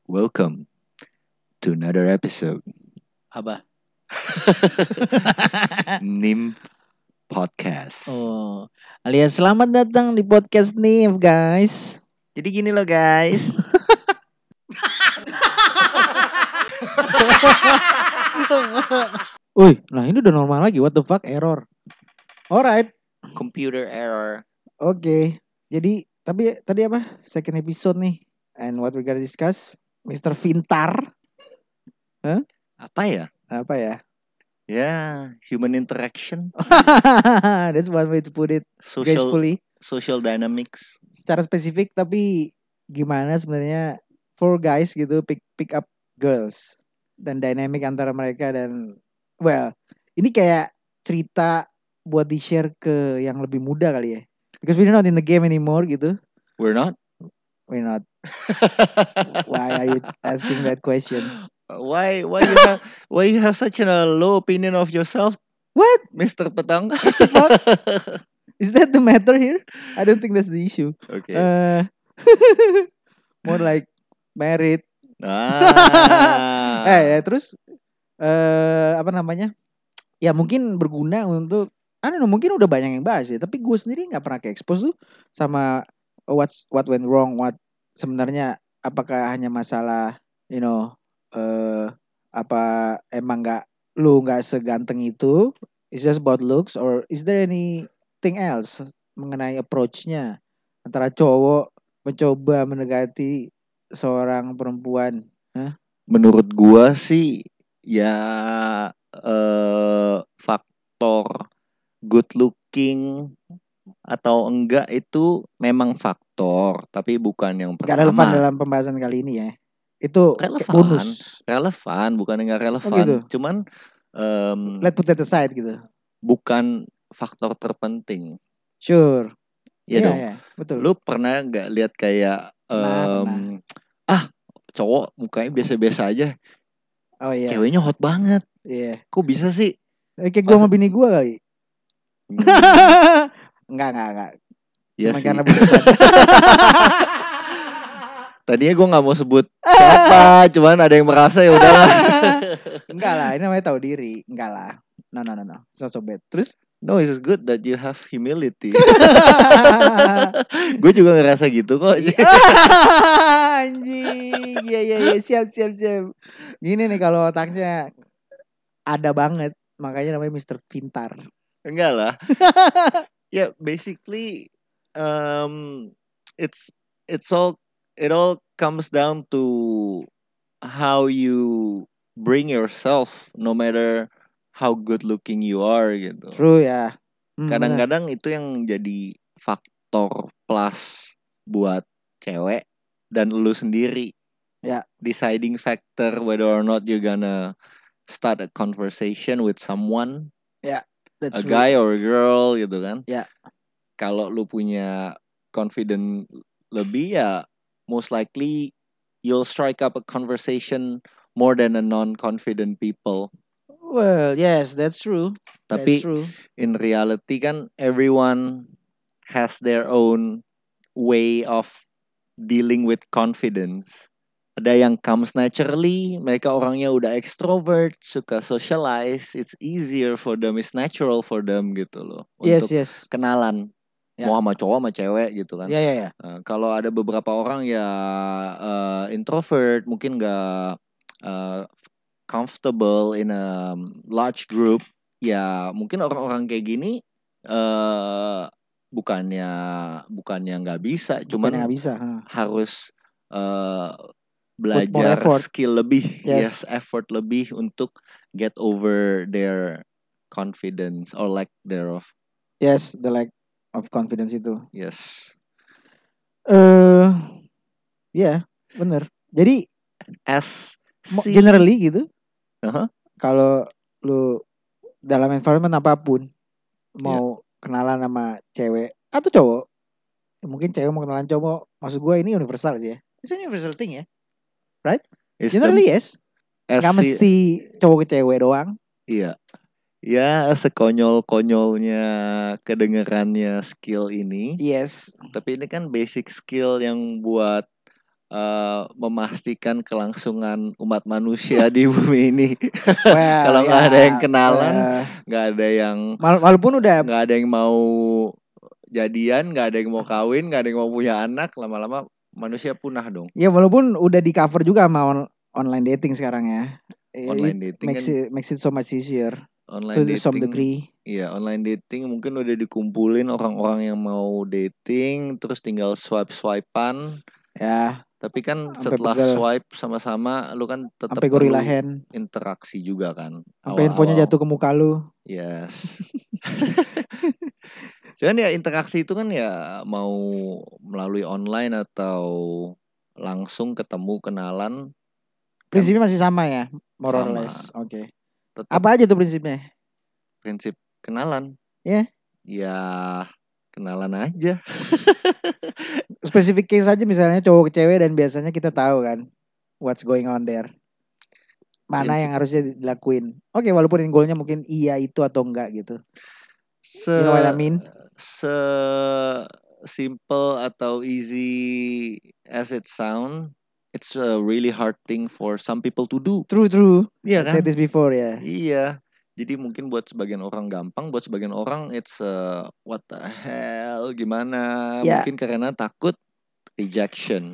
Welcome to another episode Apa? NIM Podcast. Oh, alias selamat datang di podcast nih, guys. Jadi gini loh guys. Wih, nah ini udah normal lagi. What the fuck, error. Alright, Computer error. oke. Jadi, tapi tadi apa? Second episode nih. And what we gonna discuss? Mr. Vintar. Apa ya? Apa ya? Ya, human interaction, That's one way to put it social gracefully. social dynamics. Secara spesifik, tapi gimana sebenarnya for guys gitu pick up girls dan dynamic antara mereka dan well ini kayak cerita buat di share ke yang lebih muda kali ya, because we're not in the game anymore gitu. We're not. We're not. Why are you asking that question? Why you have such a low opinion of yourself, What Mr. Petang? the fuck? Is that the matter here? I don't think that's the issue. Okay. More like married. Ah. Terus apa namanya? Ya mungkin berguna untuk I don't know, mungkin udah banyak yang bahas ya, tapi gue sendiri nggak pernah ke expose tuh sama what went wrong, what sebenarnya apakah hanya masalah you know apa emang lu nggak seganteng itu, it's just about looks, or is there anything else mengenai approach-nya antara cowok mencoba mendekati seorang perempuan? Menurut gua sih ya faktor good looking atau enggak itu memang faktor, tapi bukan yang Gak relevan pertama. dalam pembahasan kali ini ya. Itu kayak Relevan, bonus. relevan, bukan enggak Oh relevan. gitu. Cuman Let's put that aside gitu. bukan faktor terpenting. Sure. Iya dong. Iya, betul. Lu pernah nggak lihat kayak Pernah. cowok mukanya biasa-biasa aja, Oh iya. ceweknya hot banget. Iya. Kok bisa sih? Kayak gue sama bini gue kali. Enggak. Iya Cuma sih. karena beban. Tadinya gue nggak mau sebut siapa, cuman ada yang merasa ya udahlah. Enggak lah, ini namanya tahu diri. Enggak lah. No. It's not so bad. Terus? No, it's good that you have humility. Gue juga ngerasa gitu kok. Anjing. Iya. Siap. Gini nih kalau otaknya ada banget. Makanya namanya Mr. Pintar. Enggak lah. Ya, basically it's it all comes down to how you bring yourself, no matter how good looking you are gitu. True ya. Kadang-kadang itu yang jadi faktor plus buat cewek dan lu sendiri. Ya. Deciding factor whether or not you're gonna start a conversation with someone. Ya, that's a true. guy or a girl gitu kan. Ya. Kalau lu punya confident lebih ya most likely you'll strike up a conversation more than a non-confident people. Well, yes, that's true. Tapi That's true. in reality kan everyone has their own way of dealing with confidence. Ada yang comes naturally, mereka orangnya udah extrovert, suka socialize, it's easier for them, it's natural for them gitu loh. Untuk Yes. kenalan, mau sama cowok sama cewek gitu kan. Ya. Kalau ada beberapa orang ya introvert, mungkin gak comfortable in a large group, ya mungkin orang-orang kayak gini bukannya nggak bisa, cuman nggak bisa. harus Put more belajar effort. skill lebih, Yes. effort lebih untuk get over their confidence or lack thereof. Yes, the lack of confidence itu. Yes. Ya, bener. Jadi As generally gitu. Uh-huh. Kalau lu dalam environment apapun mau kenalan sama cewek atau cowok, mungkin cewek mau kenalan cowok, maksud gue ini universal sih ya. It's a universal thing ya, right? Generally yes. Gak mesti cowok ke cewek doang. Iya. Ya sekonyol-konyolnya kedengerannya skill ini. Yes. Tapi ini kan basic skill yang buat memastikan kelangsungan umat manusia di bumi ini. Well, Kalau nggak ya, ada yang kenalan, nggak ada yang walaupun udah nggak ada yang mau jadian, nggak ada yang mau kawin, nggak ada yang mau punya anak, lama-lama manusia punah dong. ya walaupun udah di cover juga sama online dating sekarang ya. Online It dating kan, makes it so much easier online to some dating, degree. iya online dating mungkin udah dikumpulin orang-orang yang mau dating, terus tinggal swipe-swipean. Ya, Tapi kan sampai setelah pegel, swipe sama-sama, lu kan tetap sampai gorilla perlu hand, interaksi juga kan sampai handphonenya awal-awal. jatuh ke muka lu. Yes. Cuman ya interaksi itu kan ya mau melalui online atau langsung ketemu kenalan kan Prinsipnya masih sama ya, more or sama. less. Oke. Tetap Apa aja tuh prinsipnya? prinsip kenalan. Ya, Ya kenalan aja. spesifik case aja misalnya cowok ke cewek dan biasanya kita tahu kan what's going on there. Mana Prinsip yang harusnya dilakuin. Oke, walaupun goalnya mungkin iya itu atau enggak gitu. se You know what I mean? se simple atau easy as it sound, it's a really hard thing for some people to do. True. Iya I said kan? this before ya. Iya. Jadi mungkin buat sebagian orang gampang, buat sebagian orang it's what the hell, gimana? Ya, Mungkin karena takut rejection.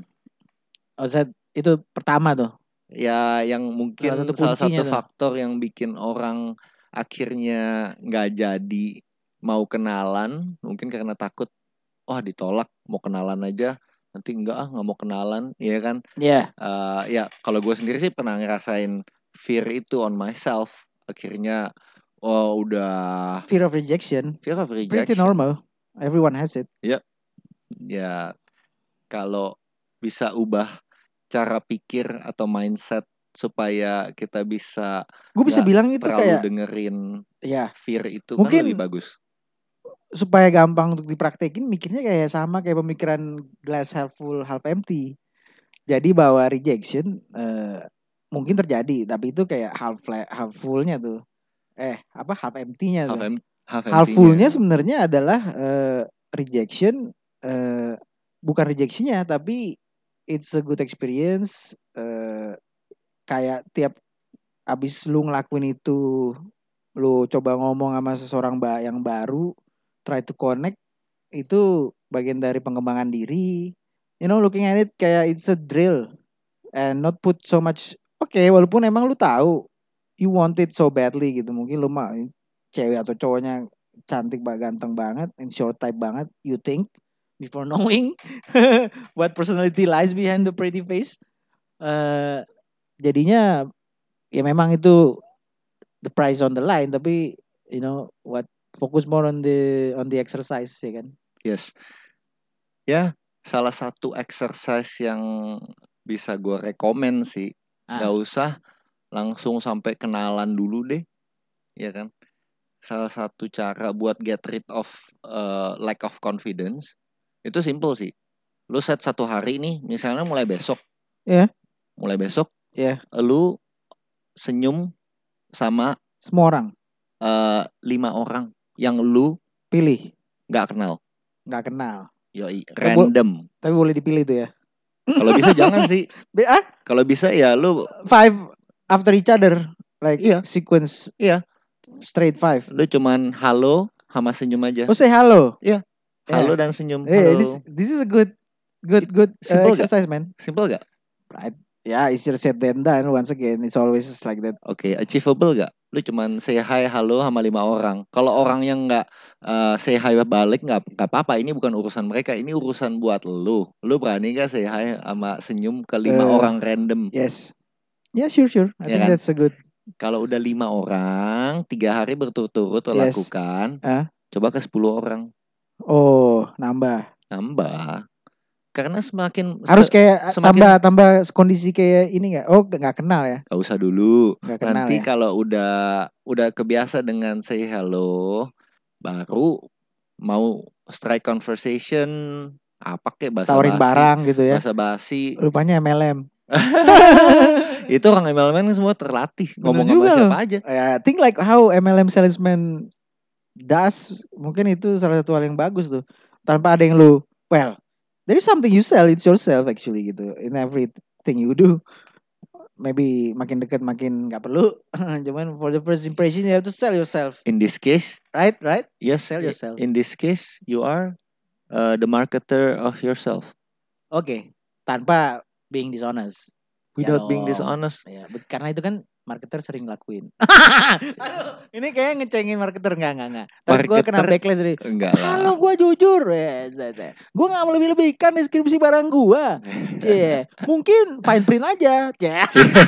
itu pertama tuh. Ya, yang Salah satu mungkin salah kuncinya satu tuh. faktor yang bikin orang akhirnya nggak jadi mau kenalan, mungkin karena takut, wah ditolak, mau kenalan aja, nanti nggak mau kenalan, iya kan? Ya, Ya kalau gue sendiri sih pernah ngerasain fear itu on myself. Akhirnya, oh udah fear of rejection. fear of Pretty rejection. normal. Everyone has it. Ya kalau bisa ubah cara pikir atau mindset supaya kita bisa Gue bisa nggak bilang itu terlalu kayak dengerin ya fear itu kan lebih mungkin bagus. supaya gampang untuk dipraktekin mikirnya kayak sama kayak pemikiran glass half full half empty. Jadi bahwa rejection mungkin terjadi tapi itu kayak half fullnya tuh. Half empty-nya Half, tuh. half Half full-nya empty-nya. sebenarnya adalah rejection bukan rejectionnya tapi it's a good experience kayak tiap abis lu ngelakuin itu lu coba ngomong sama seseorang yang baru try to connect itu bagian dari pengembangan diri, looking at it kayak it's a drill and not put so much. Oke, walaupun emang lu tahu you want it so badly gitu, mungkin lu mah cewek atau cowoknya cantik banget, ganteng banget, and short type banget, you think before knowing what personality lies behind the pretty face. Jadinya ya memang itu the price on the line, tapi what fokus more on the exercise ya kan. Yes. Ya, salah satu exercise yang bisa gue rekomen sih, nggak usah langsung sampai kenalan dulu deh, ya kan? Salah satu cara buat get rid of lack of confidence itu simple sih. Lu set satu hari nih, misalnya mulai besok. Ya. Mulai besok, Ya. lu senyum sama semua orang. 5 orang yang lu pilih. Nggak kenal. Yoi, random. Tapi boleh dipilih tuh ya. Kalau bisa jangan sih. Kalau bisa ya lu 5 after each other, like iya. Sequence. Iya. Straight 5. Lu cuman halo sama senyum aja. Oh, say halo. Iya. Halo dan senyum. Halo. This is a good exercise, man. Simple gak? Right. Yeah, easier said than done. Once again, it's always like that. Oke, achievable gak? Lu cuman say hi, halo sama 5 orang. Kalau orang yang gak say hi balik gak apa-apa. Ini bukan urusan mereka. Ini urusan buat lu. Lu berani gak say hi sama senyum ke 5 orang random? Yes. Yeah, sure. I think that's a good. Kalau udah 5 orang, 3 hari berturut-turut lakukan. Coba ke 10 orang. Oh, nambah. Karena semakin harus kayak tambah kondisi kayak ini nggak? Oh, nggak kenal ya? Gak usah dulu. ya? Nanti kalau udah kebiasa dengan say hello, baru mau strike conversation, apa kayak bahasa tawarin basi, barang gitu ya? Bahasa basi. Rupanya MLM. Itu orang MLM semua terlatih ngomong sama siapa aja. I think like how MLM salesman does, mungkin itu salah satu hal yang bagus tuh. Tanpa ada yang there is something you sell, it's yourself actually gitu. In everything you do, maybe makin dekat makin nggak perlu. Cuman for the first impression you have to sell yourself, In this case, right? Right? yes, Sell yourself. in this case, you are the marketer of yourself Oke, tanpa being dishonest. Ya without being dong. dishonest. Ya, karena itu kan marketer sering lakuin. Aduh, ini kayak ngecengin marketer enggak. Ntar gue kena Marketer backlash dari enggak lah. halo gue jujur ya, gue nggak mau lebih-lebihkan deskripsi barang gue. Cie, mungkin fine print aja. Cie.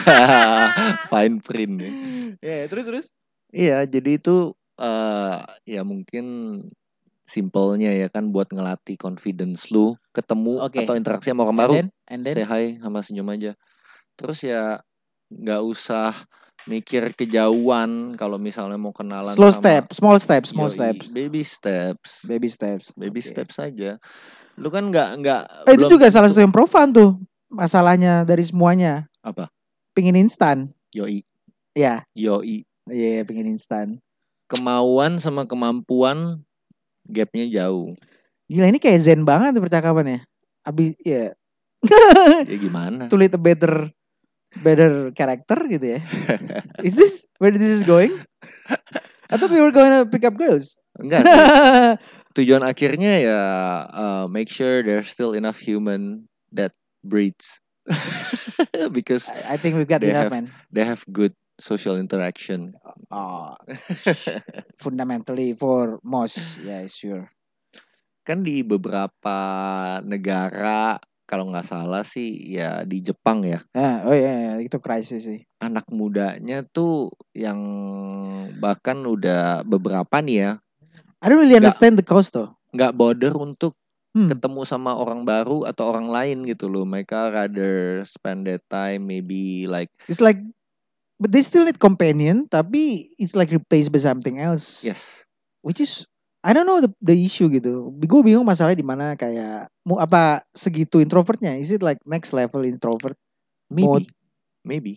Fine print ya. Ya, terus. Iya, jadi itu ya mungkin simpelnya ya kan buat ngelatih confidence lu, ketemu Oke. atau interaksi sama orang And baru, then say hi sama senyum aja. Terus ya nggak usah mikir kejauhan kalau misalnya mau kenalan slow sama small steps. yoi, baby steps Oke. steps aja. Lu kan nggak Itu belum juga salah tentu- satu yang profan tuh. Masalahnya dari semuanya. apa Pingin instan. yoi Ya, yoi iya pingin instan. kemauan sama kemampuan gapnya jauh. Gila ini kayak zen banget tuh percakapannya. Abis ya Ya gimana? to lead a better character gitu ya. Is this where this is going? I thought we were going to pick up girls. Enggak sih. Tujuan akhirnya ya make sure there's still enough human that breeds. Because I think we've got they enough, have man. they have good social interaction. Oh, fundamentally for most, yeah, sure. Kan di beberapa negara kalau nggak salah sih ya di Jepang ya, Oh ya, itu krisis sih. anak mudanya tuh yang bahkan udah beberapa nih ya I don't really understand the cause though. nggak border untuk Hmm. ketemu sama orang baru atau orang lain gitu loh. Mereka rather spend that time maybe like It's like, but they still need companion, tapi it's like replaced by something else. yes. Which is I don't know the issue gitu. Gue bingung masalahnya di mana kayak mau apa segitu introvertnya? Is it like next level introvert mode? Maybe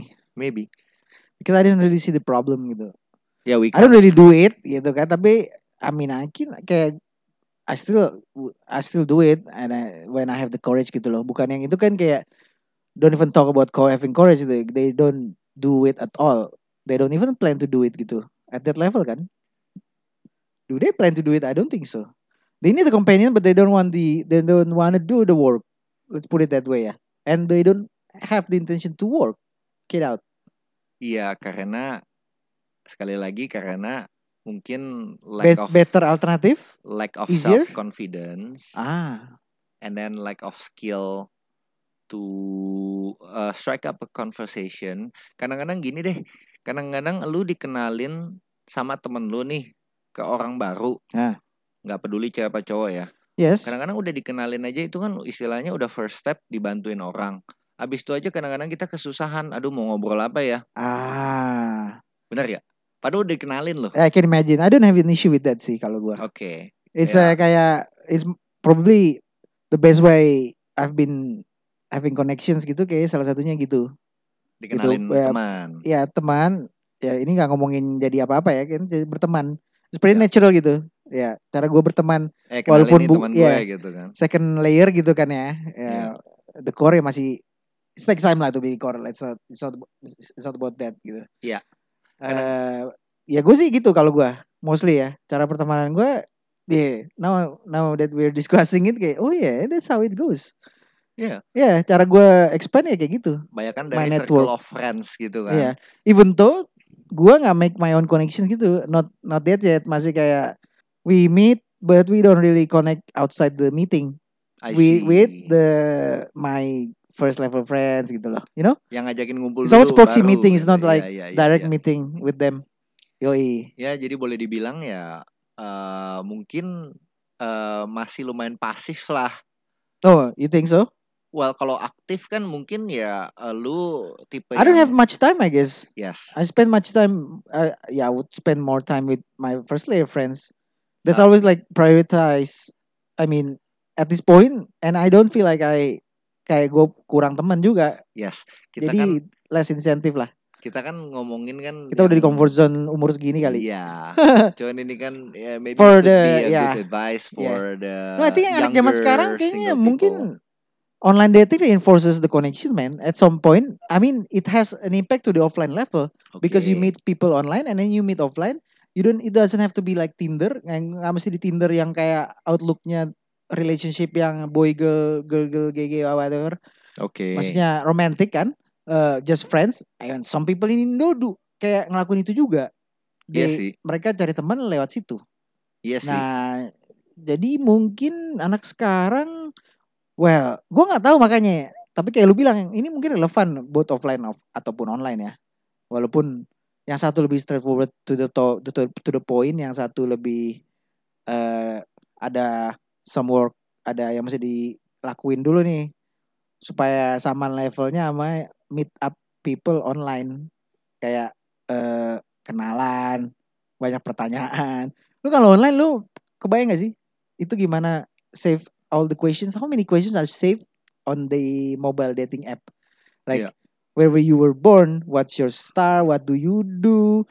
Because I didn't really see the problem gitu. yeah we I don't can't really do it gitu kan. Tapi I mean I can kayak I still do it and when I have the courage gitu loh. Bukan yang itu kan kayak don't even talk about having courage gitu. They don't do it at all. They don't even plan to do it gitu. At that level kan. Do they plan to do it? I don't think so. They need a companion, but they don't want to do the work. Let's put it that way, ya. And they don't have the intention to work. Get out. iya karena sekali lagi karena mungkin lack of Better alternative. Easier? self confidence Ah, and then lack of skill to strike up a conversation. Kadang-kadang gini deh, kadang-kadang lu dikenalin sama temen lu nih ke orang baru, Ah. nggak peduli cewek apa cowok ya. yes. Kadang-kadang udah dikenalin aja itu kan istilahnya udah first step dibantuin orang. Abis itu aja kadang-kadang kita kesusahan, aduh mau ngobrol apa ya? Ah, Benar ya? Padahal udah dikenalin loh. I can imagine. I don't have an issue with that sih kalau gua. Oke. It's Ya. kayak it's probably the best way I've been having connections gitu kayak salah satunya gitu. Dikenalin Gitu. teman. Ya teman. Ya ini nggak ngomongin jadi apa-apa ya kan jadi berteman. It's pretty Ya. natural gitu. Ya cara gue berteman Kenalin walaupun nih teman gue gitu kan. second layer gitu kan ya. Iya. The core ya masih it takes time lah to be core. It's not about that gitu. Iya. Ya gue sih gitu kalau gue mostly ya cara pertemanan gue. Yeah, now that we're discussing it kayak oh yeah that's how it goes. Iya. Ya cara gue expand ya kayak gitu. Banyakan My dari network. circle of friends gitu kan. Iya. Even though gue nggak make my own connections gitu, not that yet, masih kayak we meet but we don't really connect outside the meeting. With my first level friends gitu loh, you know? Yang ngajakin ngumpul It's always dulu proxy baru, meeting, it's gitu. not like Iya, direct iya. meeting with them. Yoi. Ya jadi boleh dibilang ya mungkin masih lumayan pasif lah. Oh, you think so? Well kalau aktif kan mungkin ya lu tipe I don't have much time, I guess. Yes. I spend much time. I would spend more time with my first layer friends. That's always like prioritize. I mean, at this point, and I don't feel like kayak gue kurang teman juga. Yes. Kita Jadi kan less incentive lah. Kita kan ngomongin kan Kita udah di yang- comfort zone umur segini kali. Iya. Cuman ini kan ya maybe For could be the a yeah. good advice for the No, I think anak zaman sekarang younger kayaknya single people. mungkin online dating reinforces the connection, man. At some point, I mean, it has an impact to the offline level because you Oke. meet people online and then you meet offline. It doesn't have to be like Tinder. Nggak mesti di Tinder yang kayak outlooknya relationship yang boy girl girl girl gay gay whatever. Oke. Maksudnya romantic kan? Just friends. And some people in Indo kayak ngelakuin itu juga. Iya sih. Mereka cari teman lewat situ. Iya sih. Nah, jadi mungkin anak sekarang, well, gue nggak tahu makanya. Tapi kayak lu bilang, ini mungkin relevan both offline ataupun online ya. Walaupun yang satu lebih straightforward to the point, yang satu lebih ada some work, ada yang mesti dilakuin dulu nih supaya sama levelnya sama meet up people online, kayak kenalan, banyak pertanyaan. Lu kalau online lu kebayang gak sih itu gimana save all the questions? How many questions are saved on the mobile dating app? Like Iya. where you were born, what's your star, what do you do?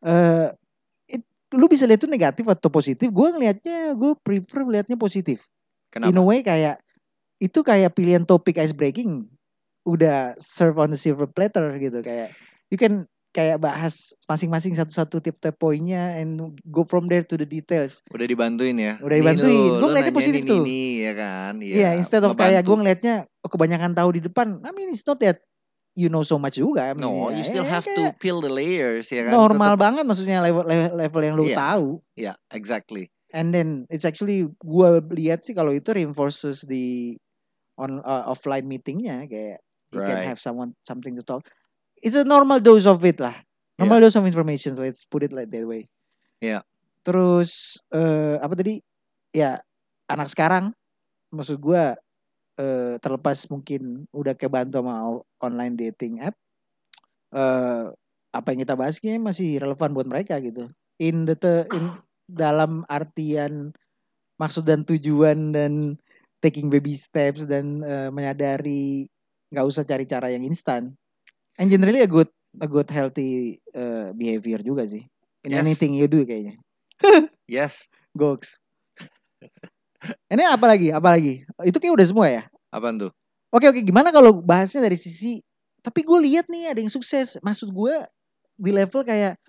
Lu bisa lihat itu negatif atau positif. Gue prefer lihatnya positif. In a Kenapa? way kayak itu kayak pilihan topik ice breaking udah serve on the silver platter gitu, kayak you can kayak bahas masing-masing satu-satu tiap-tiap poinnya and go from there to the details. Udah dibantuin ya. Udah Nih dibantuin. Gue lu ngeliatnya nanyain positif tuh. ini ya kan. Iya, instead of kayak ngebantu. gue ngeliatnya kebanyakan tahu di depan. I mean it's not that you know so much juga. I mean, No, you still have to kayak peel the layers ya kan. normal banget maksudnya level yang lu Iya. tahu. Iya, exactly. And then it's actually gue lihat sih kalau itu reinforces the offline meetingnya, kayak you can Right. have something to talk. It's a normal dose of it lah. Normal dose of information. Let's put it like that way. Iya. Terus apa tadi? Ya anak sekarang, maksud gue terlepas mungkin udah kebantu sama online dating app, apa yang kita bahas kayaknya masih relevan buat mereka gitu. In dalam artian maksud dan tujuan dan taking baby steps dan menyadari nggak usah cari cara yang instan. And generally a good healthy behavior juga sih. In Yes. anything you do kayaknya. Yes. Goks. Ini apa lagi? Itu kayak udah semua ya? Apaan tuh? Oke, gimana kalau bahasnya dari sisi, tapi gue lihat nih ada yang sukses. Maksud gue di level kayak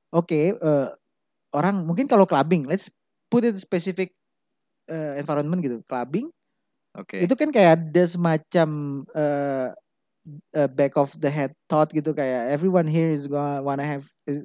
orang mungkin kalau clubbing, let's put it specific environment gitu. Clubbing Oke. itu kan kayak ada semacam back of the head thought gitu, kayak everyone here is gonna wanna have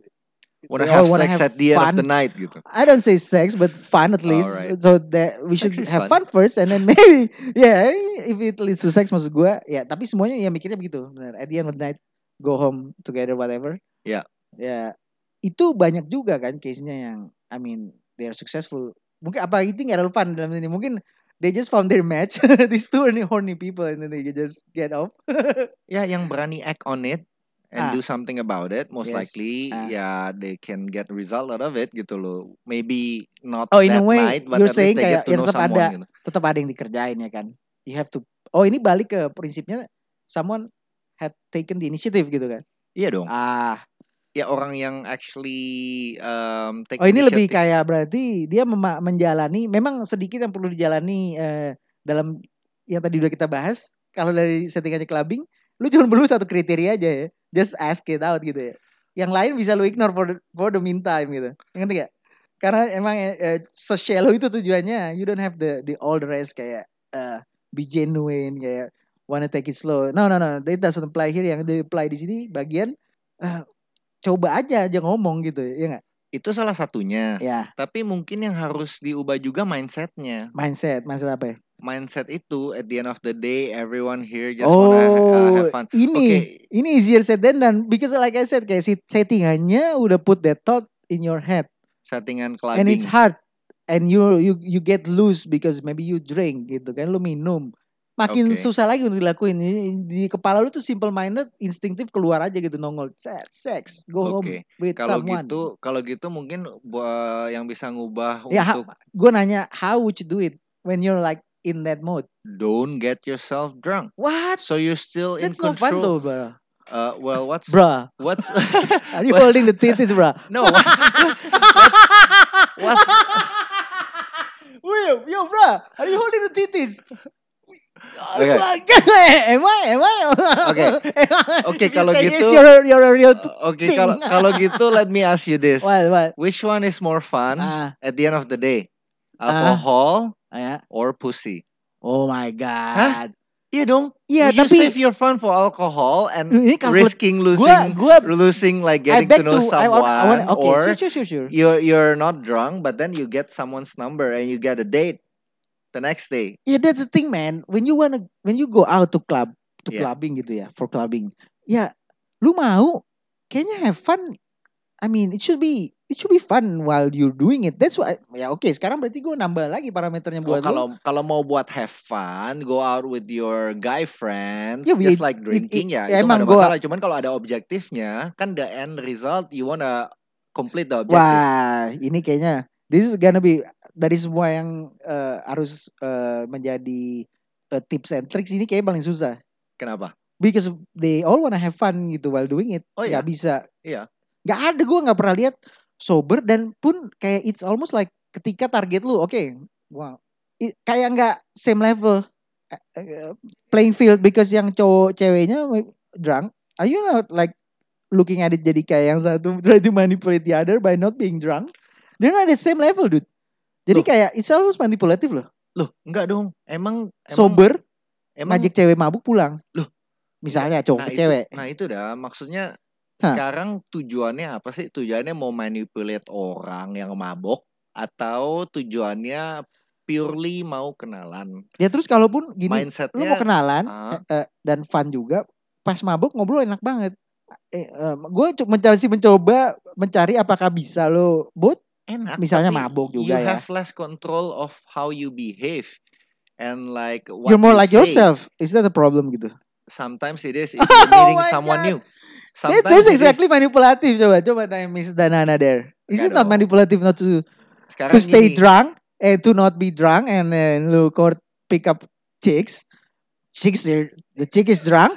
sex at the end of the night gitu. I don't say sex, but fun at least. Alright. So that we Sex should is have fun. fun first, and then maybe if it leads to sex, maksud gue ya. Tapi semuanya ya mikirnya begitu. Benar. At the end of the night, go home together, whatever. Ya. Ya itu banyak juga kan case-nya yang, I mean, they are successful. Mungkin apa itu nggak relevan dalam ini. Mungkin they just found their match. These two horny people, and then they just get off. Ya, yang berani act on it and do something about it, most Yes. likely ya they can get result out of it gitu loh. Maybe not in a that way, night, but you're at least saying they kayak get to know someone gitu. tetap ada yang dikerjain ya kan. You have to. Oh, ini balik ke prinsipnya someone had taken the initiative gitu kan. Iya dong. Ya orang yang actually take ini initiative. lebih kayak berarti dia menjalani, memang sedikit yang perlu dijalani dalam yang tadi udah kita bahas. Kalau dari settingannya clubbing, lu cuma perlu satu kriteria aja ya, just ask it out gitu ya. Yang lain bisa lu ignore for the meantime gitu. Ngerti gak? Karena emang so-shallow itu tujuannya. You don't have the all the rest kayak be genuine, kayak wanna take it slow. No, that doesn't apply here. Yang di apply di sini bagian coba aja ngomong gitu ya nggak? Itu salah satunya. Ya. Tapi mungkin yang harus diubah juga mindsetnya. Mindset apa ya? Mindset itu at the end of the day everyone here just wanna have fun. Ini easier said than done, because like I said kayak settingannya udah put that thought in your head. Settingan clubbing. And it's hard. And you get loose because maybe you drink gitu kan, lu minum. Makin susah lagi untuk dilakuin. Di kepala lu tuh simple minded, instinktif keluar aja gitu, nongol sex, go home with someone. Kalau gitu mungkin yang bisa ngubah ya, untuk gue nanya, how would you do it when you're like in that mode? Don't get yourself drunk. What? So you're still That's in control. That's no fun though, bro. Well, Bruh, what's are you what- holding the titties, bruh? no what's Wait, yo, bruh, are you holding the titties? okay Am I? okay okay If you kalau say gitu yes, you're a real okay thing. kalau gitu let me ask you this. What? Which one is more fun Ah, at the end of the day? ah, Alcohol ya. or pussy? Oh my Hah? god. Iya dong. Iya, You save tapi your fun for alcohol and ini kalkulat risking gua losing like I getting to bet know to I want someone, okay, or sure. you're not drunk but then you get someone's number and you get a date the next day. Yeah, that's the thing, man. When you go out to Yeah. clubbing gitu ya, for clubbing. Ya, lu mau kayaknya have fun. I mean, it should be fun while you're doing it. That's why ya oke, sekarang berarti gue nambah lagi parameternya Oh, buat lu. kalau mau buat have fun, go out with your guy friends, Ya, just like drinking ya, itu nggak emang ada gua masalah. Cuman kalau ada objektifnya, kan the end result you wanna complete the objective. wah, ini kayaknya this is gonna be dari semua yang harus menjadi tips and tricks ini kayak paling susah. Kenapa? Because they all wanna have fun gitu while doing it. Oh Nggak iya? bisa. Iya. Nggak ada, gue nggak pernah lihat sober dan pun kayak it's almost like ketika target lu oke, wow, kayak nggak same level playing field because yang cowok ceweknya drunk, are you not like looking at it jadi kayak yang satu try to manipulate the other by not being drunk? They're not the same level, dude. Jadi Loh. kayak it's almost manipulative loh. Loh, enggak dong. Emang Sober emang ngajak cewek mabuk pulang. Loh. Misalnya cowok ke cewek. Nah itu dah maksudnya Hah. sekarang tujuannya apa sih? Tujuannya mau manipulate orang yang mabok atau tujuannya purely mau kenalan? Ya terus kalaupun gini, Mindsetnya, lu mau kenalan ah. dan fun juga, pas mabuk ngobrol enak banget. Gue masih mencoba mencari apakah bisa lo both Enak. misalnya tapi mabuk you juga ya. have less control of how you behave and like what You're more you like say. yourself. Is that a problem gitu? Sometimes it is if you're meeting my someone God. new. Sometimes That's it is. exactly manipulative. Coba tanya Miss Danana there. Is it Enggak not dong. manipulative not to Sekarang stay gini, drunk and to not be drunk and then lu court pick up chicks? The chick is drunk.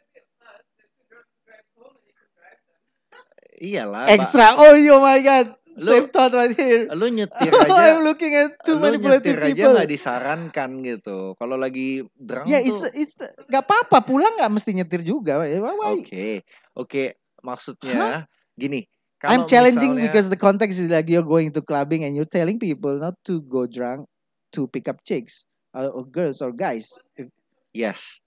iyalah. Extra. Oh my God. Same Lu- thought right here. Lu nyetir I'm aja, looking at two lu manipulative nyetir aja people. nggak disarankan gitu. Kalau lagi drunk Ya, tuh. gak apa-apa. Pulang gak mesti nyetir juga. Why? Oke. Maksudnya gini. I'm Kalau challenging misalnya, because the context is like you're going to clubbing and you're telling people not to go drunk to pick up chicks or girls or guys. yes.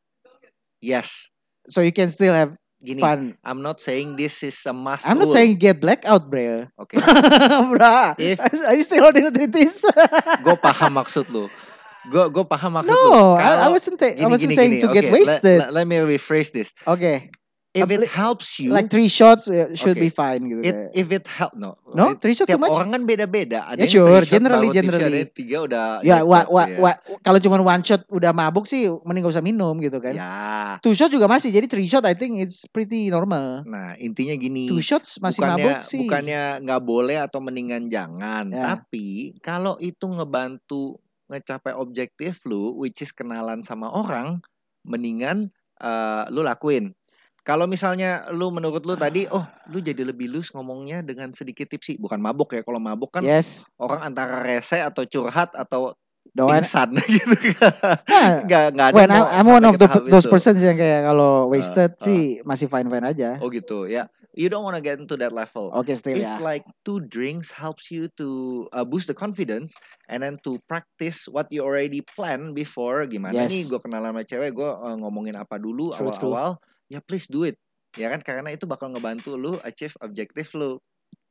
So you can still have Gini, fun. I'm not saying this is a must I'm not rule. saying get blackout, bro. Oke. Bruh, If- are you still holding the titties? Gue paham maksud lu. Gue paham maksud lu. No, I Kalau- wasn't saying to get Okay, wasted. Let me rephrase this. Okay, If it Like- helps you, like 3 shots should Okay. be fine gitu. kayak. if it help, No, it- 3 shots too tiap much. orang kan beda-beda. Ada Ya, yang sure, 3 shot baru tipsy, generally. ada yang 3 udah Ya, jackpot, ya. kalau cuma 1 shot udah mabuk sih mending gak usah minum gitu kan. Ya. 2 shot juga masih, jadi 3 shot I think it's pretty normal. Nah, intinya 2 gini. shots masih mabuk sih. Bukannya nggak boleh atau mendingan jangan. Ya. Tapi kalau itu ngebantu ngecapai objektif lu, which is kenalan sama orang, mendingan lu lakuin. Kalau misalnya lu menurut lu tadi, lu jadi lebih loose ngomongnya dengan sedikit tipsy, bukan mabuk ya. Kalau mabuk kan Yes. orang antara rese atau curhat atau Don't pingsan gitu. Nah, Nggak ada when mau I'm one sampai of ke tahap those itu. persons yang kayak kalau wasted sih masih fine aja. Oh gitu ya. You don't wanna get into that level. Oke, still If ya. like 2 drinks helps you to boost the confidence and then to practice what you already plan before, gimana Yes. nih gue kenalan sama cewek, gue ngomongin apa dulu True. awal-awal, ya please do it. Ya kan, karena itu bakal ngebantu lu achieve objektif lu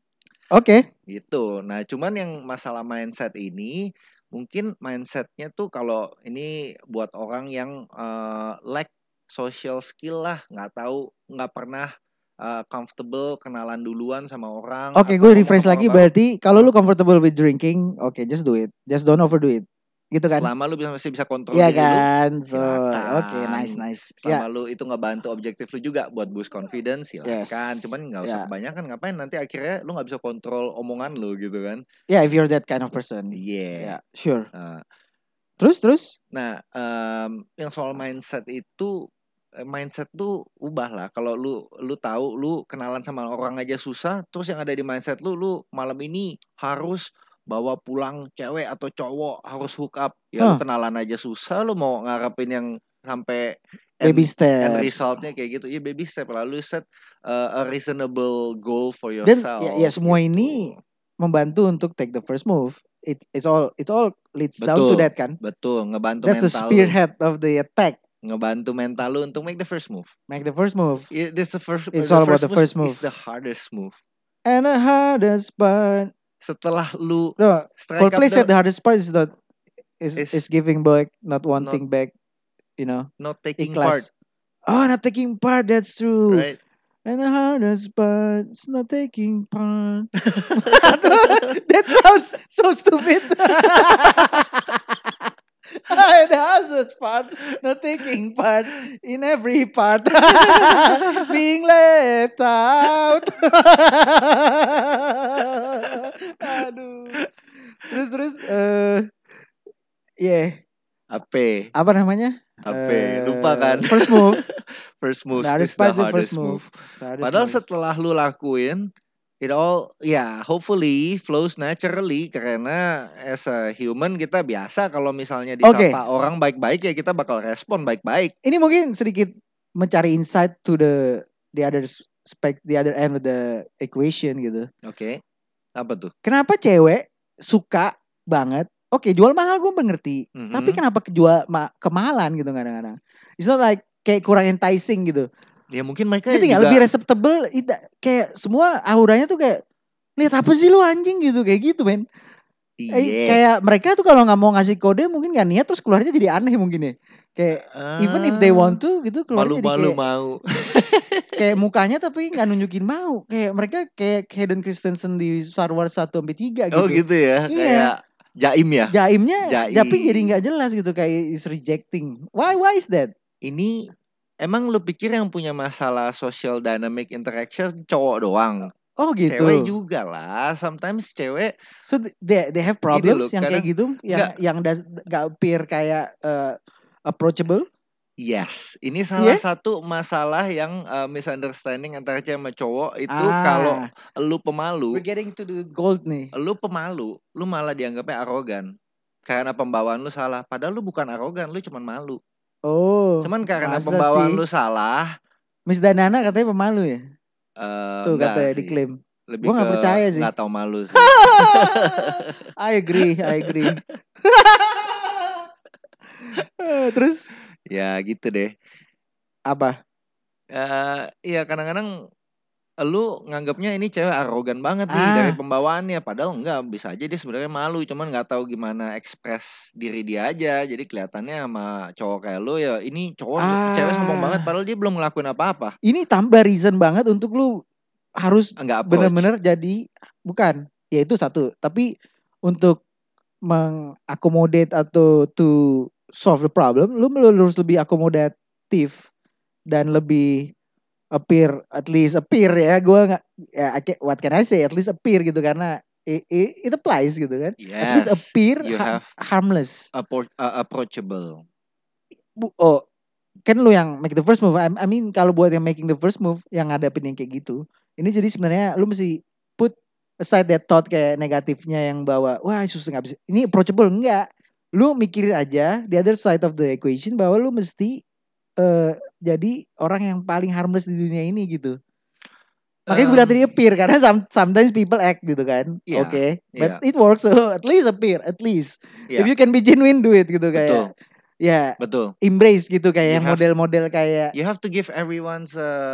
Oke. gitu. Nah cuman yang masalah mindset ini, mungkin mindsetnya tuh kalau ini buat orang yang lack social skill lah, nggak pernah comfortable kenalan duluan sama orang. Oke, atau gue ngomong refresh sama lagi orang baru. berarti kalau lu comfortable with drinking, oke, just do it. Just don't overdo it. Gitu kan? Selama lu masih bisa kontrol Iya diri lu, kan? So, silakan. oke, nice. Selama Ya, lu itu ngebantu objektif lu juga buat boost confidence, silakan. Yes. Cuman nggak usah Ya. kebanyakan, ngapain nanti akhirnya lu nggak bisa kontrol omongan lu gitu kan? Yeah, if you're that kind of person. Yeah. Yeah, sure. Uh, Terus? Nah, yang soal mindset itu mindset tuh ubah lah. Kalau lu tahu lu kenalan sama orang aja susah, terus yang ada di mindset lu malam ini harus bawa pulang cewek atau cowok, harus hook up. Ya lu Huh, kenalan aja susah, lu mau ngarepin yang sampai baby end steps. resultnya kayak gitu. Ya baby step, lalu set a reasonable goal for Dan ya yourself semua ini gitu. membantu untuk take the first move. It all leads down to Betul, that kan. betul, ngebantu That's the mental lu, spearhead of the attack. ngebantu mental lu untuk make the first move. Make the first move. Yeah, this It's the all about first the move first is the move. hardest move. And the hardest part. Setelah lu No, strike up Coldplay said the hardest part is not is is giving back, not not wanting back. You know, not taking part, ikhlas. Oh, not taking part. That's true. right? And the hardest part is not taking part. That sounds so stupid. The hardest part, not taking part in every part, being left out. Aduh. Terus yeah, Apa? apa namanya? Apa? Lupa kan? First move. First move The hardest is the part, the first hardest move. move. The hardest Padahal move. setelah lu lakuin it all, ya hopefully flows naturally, karena as a human kita biasa kalau misalnya Oke, disapa orang baik-baik ya kita bakal respon baik-baik. ini mungkin sedikit mencari insight to the other the other end of the equation gitu. Oke. Apa tuh? Kenapa cewek suka banget? Oke, jual mahal gue mengerti. Tapi kenapa jual kemahalan gitu kadang-kadang? It's not like kayak kurang enticing gitu. Ya mungkin mereka Ngerti nggak? juga Lebih acceptable. Kayak semua auranya tuh kayak lihat apa sih lu anjing gitu kayak gitu men. iya. Kayak mereka tuh kalau nggak mau ngasih kode mungkin nggak niat terus keluarnya jadi aneh mungkin ya. Kayak even if they want to gitu keluarnya jadi malu-malu kayak mau. kayak mukanya tapi nggak nunjukin mau. Kayak mereka kayak Hayden Christensen di Star Wars 1 sampai 3 Oh gitu. gitu ya, kayak Iya. jaim ya. Jaimnya tapi jadi Jaim. nggak jelas gitu kayak is rejecting. Why is that? Ini emang lu pikir yang punya masalah social dynamic interaction cowok doang? Oh Cewek gitu. juga lah. Sometimes cewek So they have gini problems loh, yang kayak kadang gitu enggak. yang nggak appear kayak approachable. Yes, ini salah Iya? satu masalah yang misunderstanding antara cewek sama cowok itu kalau lu We're pemalu, getting to the gold nih. lu malah dianggapnya arogan. Karena pembawaan lu salah, padahal lu bukan arogan, lu cuman malu. Oh, Cuman karena masa pembawaan sih? lu salah, Miss Danana katanya pemalu ya? Tuh enggak katanya sih. diklaim. Lebih Gue ke nggak percaya sih. nggak tahu malu sih. I agree. Terus Ya gitu deh. apa? Iya kadang-kadang lu nganggapnya ini cewek arogan banget nih dari pembawaannya, padahal enggak, bisa aja dia sebenarnya malu, cuman nggak tahu gimana ekspres diri dia aja. Jadi kelihatannya sama cowok kayak lu ya ini cewek sombong banget padahal dia belum ngelakuin apa-apa. Ini tambah reason banget untuk lu harus Enggak approach. benar-benar jadi bukan. Ya itu satu, tapi untuk mengakomodate atau to solve the problem, lu harus lebih akomodatif dan lebih at least appear ya. Gue nggak ya what can I say, at least appear gitu karena it applies gitu kan. At least Yes, appear you have harmless. approachable. Oh, kan lu yang make the first move. I mean kalau buat yang making the first move yang ngadepin yang kayak gitu, ini jadi sebenarnya lu mesti put aside that thought kayak negatifnya yang bawa wah susah nggak bisa. Ini approachable enggak. Lu mikirin aja the other side of the equation bahwa lu mesti jadi orang yang paling harmless di dunia ini gitu. Makanya gue bilang tadi appear karena sometimes people act gitu kan. Iya, Oke. iya. But it works so at least appear at least. Iya. If you can be genuine do it gitu Betul. kayak. Ya, betul. Embrace gitu kayak You yang have- model-model kayak You have to give everyone's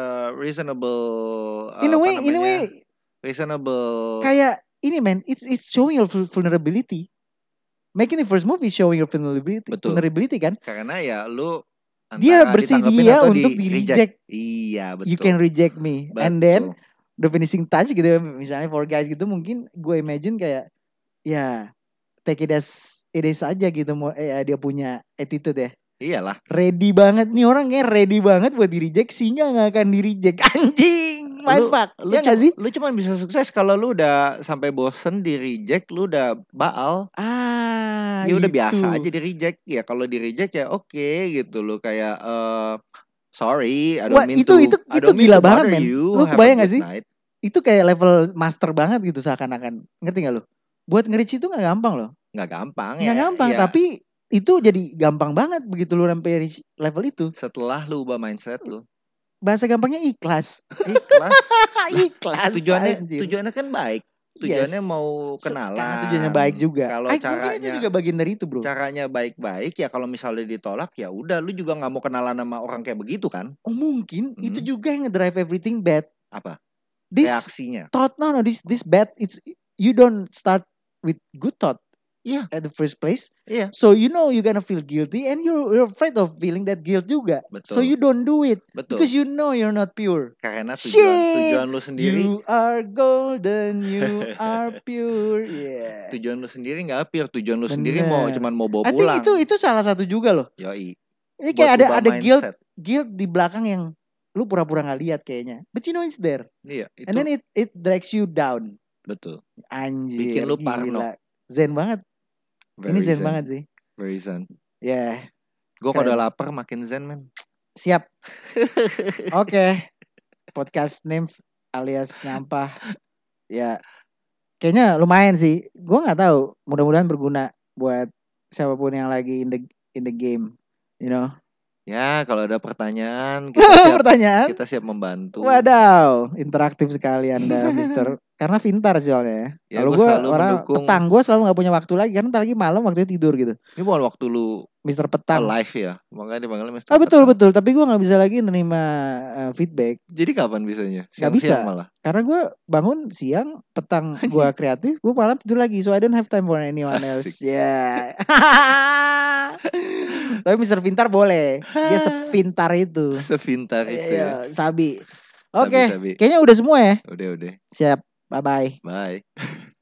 reasonable in a way reasonable. kayak ini man, it's showing your vulnerability. Making the first move is showing your vulnerability. Betul. Vulnerability kan? Karena ya lu Dia antara ditanggepin bersedia atau untuk di reject. Iya, betul. You can reject me. Betul. And then the finishing touch gitu misalnya for guys gitu mungkin gue imagine kayak ya take it as it is aja gitu dia punya attitude ya. Iyalah. Ready banget nih orangnya, ready banget buat di reject sehingga nggak akan di reject. Anjing, mindfuck. Lu Ya nggak sih? Lu cuma bisa sukses kalau lu udah sampai bosen di reject, lu udah baal. Ya udah Itu. biasa aja di reject. Ya kalau di reject ya oke gitu loh, kayak Sorry, I Wah, don't mean itu to gila banget, bother men. you. Lu Have a kebayang gak good sih? night. Itu kayak level master banget gitu seakan-akan. Ngerti gak lu? Buat nge-reach itu gak gampang loh. Nggak gampang Nggak ya. gampang, Ya, tapi itu jadi gampang banget begitu lu sampai reach level itu. setelah lu ubah mindset lu. Bahasa gampangnya ikhlas. Ikhlas. Ikhlas, anjir. Tujuannya kan baik. Yes. Tujuannya mau kenalan. Karena tujuannya baik juga. Kalau Mungkin itu juga bagian dari itu, bro. caranya baik-baik ya, kalau misalnya ditolak ya udah, lu juga nggak mau kenalan sama orang kayak begitu kan? Oh, mungkin itu juga yang ngedrive everything bad. Apa? This Reaksinya. thought, no, this bad. You don't start with good thought. Iya. At the first place. Iya. So you know you're gonna feel guilty and you're afraid of feeling that guilt juga. Betul. So you don't do it. Betul. Because you know you're not pure. Karena tujuan lu sendiri. You are golden, you are pure. Yeah. Tujuan lu sendiri nggak pure. Tujuan lu sendiri cuman mau bawa I pulang. think itu salah satu juga loh. Yoi. Ini kayak ada guilt di belakang yang lu pura-pura nggak lihat kayaknya. But you know it's there. Iya. Itu. And then it drags you down. Betul. Anjir. Bikin lu parno. Zen banget. Ini zen banget sih. Very zen. Ya. Yeah. Gue kalau udah lapar makin zen, men. Siap. Oke. Podcast name alias nyampah. Ya. Kayaknya lumayan sih. Gue nggak tahu. Mudah-mudahan berguna buat siapapun yang lagi in the game. You know. Ya, kalau ada pertanyaan kita siap membantu. Wadaw, interaktif sekali Anda, Mister. Karena pintar soalnya ya. Kalau gue orang petang, gue selalu nggak punya waktu lagi karena lagi malam waktunya tidur gitu. Ini bukan waktu lu Mister Petang. Live ya, makanya dipanggilnya Mister Petang. Betul. Tapi gue nggak bisa lagi menerima feedback. Jadi kapan bisanya? Gak bisa. Malah. Karena gue bangun siang, petang gue kreatif, gue malam tidur lagi. So I don't have time for anyone else. Ya. Yeah. Tapi Mister Pintar boleh. Dia sepintar itu. Sepintar itu. Iya, sabi. Oke, kayaknya udah semua ya. Udah. Siap. Bye-bye. Bye.